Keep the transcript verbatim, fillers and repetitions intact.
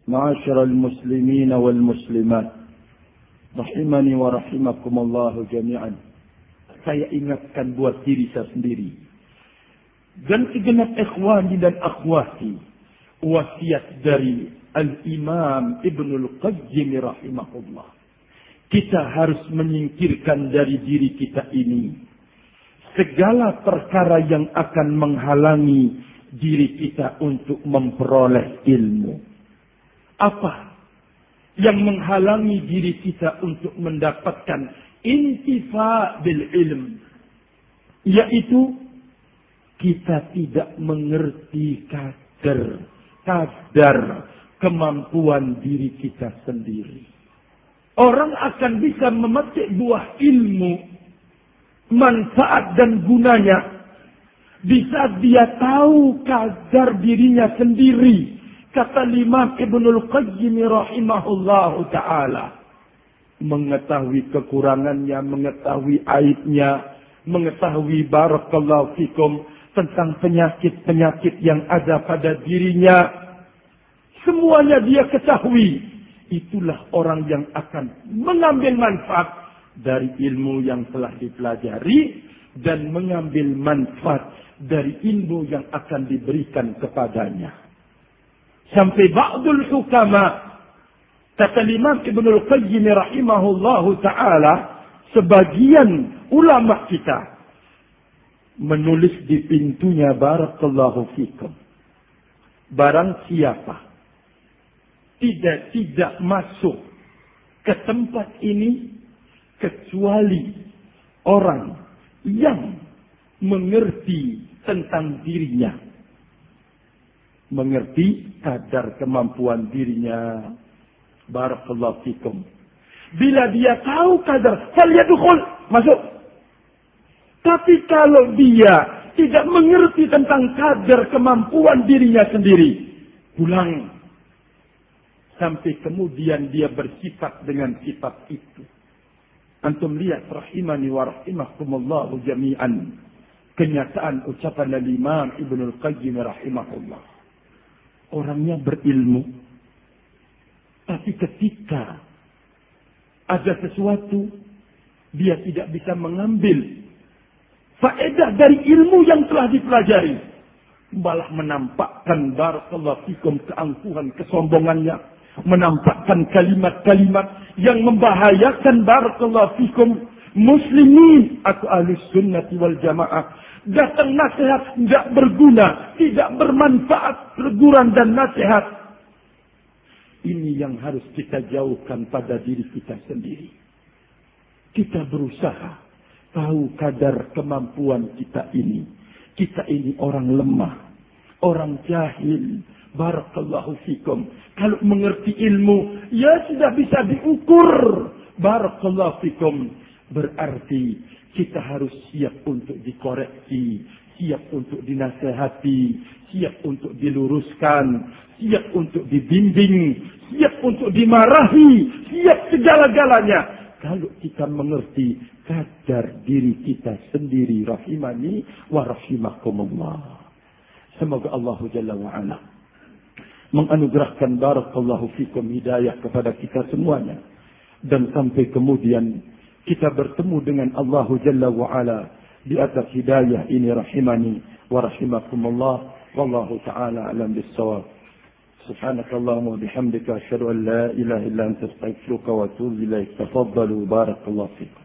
Ma'asyiral muslimin wal muslimat, rahimani wa rahimakumullah jami'an. Saya ingatkan buat diri saya sendiri dan segenap ikhwani dan akhwati, wasiat dari Al-Imam Ibnul Qayyim rahimahullah. Kita harus menyingkirkan dari diri kita ini segala perkara yang akan menghalangi diri kita untuk memperoleh ilmu. Apa yang menghalangi diri kita untuk mendapatkan intifa bil ilm? Yaitu kita tidak mengerti kadar, kadar kemampuan diri kita sendiri. Orang akan bisa memetik buah ilmu, manfaat dan gunanya bisa dia tahu kadar dirinya sendiri. Kata Imam Ibnul Qayyim rahimahullahu ta'ala, mengetahui kekurangannya, mengetahui aibnya, mengetahui barakallahu fikum tentang penyakit-penyakit yang ada pada dirinya. Semuanya dia ketahui. Itulah orang yang akan mengambil manfaat dari ilmu yang telah dipelajari dan mengambil manfaat dari ilmu yang akan diberikan kepadanya. Sampai ba'dul hukama, kata Imam Ibnul Qayyim rahimahullahu ta'ala, sebagian ulama kita menulis di pintunya, barakallahu fikum, barang siapa tidak tidak masuk ke tempat ini kecuali orang yang mengerti tentang dirinya, mengerti kadar kemampuan dirinya, barakallahu fikum. Bila dia tahu kadar, falyadkhul, masuk. Tapi kalau dia tidak mengerti tentang kadar kemampuan dirinya sendiri, pulang. Sampai kemudian dia bersifat dengan sifat itu. Antum lihat rahimani wa rahimakumullahu jami'an, kenyataan ucapan Imam Ibnul Qayyim rahimahullah. Orangnya berilmu, tapi ketika ada sesuatu, dia tidak bisa mengambil faedah dari ilmu yang telah dipelajari, malah menampakkan barakallahu fikum keangkuhan, kesombongannya, menampakkan kalimat-kalimat yang membahayakan barakallahu fikum muslimin atau ahli sunnati wal jamaah. Datang nasihat tidak berguna, tidak bermanfaat, teguran dan nasihat. Ini yang harus kita jauhkan pada diri kita sendiri. Kita berusaha tahu kadar kemampuan kita ini. Kita ini orang lemah, orang jahil. Barakallahu fikum. Kalau mengerti ilmu, ya sudah bisa diukur. Barakallahu fikum. Berarti kita harus siap untuk dikoreksi, siap untuk dinasehati, siap untuk diluruskan, siap untuk dibimbing, siap untuk dimarahi, siap segala-galanya. Kalau kita mengerti kadar diri kita sendiri, rahimani wa rahimakumullah. Semoga Allah Jalla wa'ala menganugerahkan barakallahu fikum hidayah kepada kita semuanya. Dan sampai kemudian kita bertemu dengan Allah Jalla wa'ala di atas hidayah ini, rahimani wa rahimakumullah. Wallahu ta'ala alam bis-shawab. Subhanakallahumma wa bihamdika asyhadu an la ilaha illa anta astaghfiruka wa atubu ilaik. Tafaddalu, barakallahu fikum.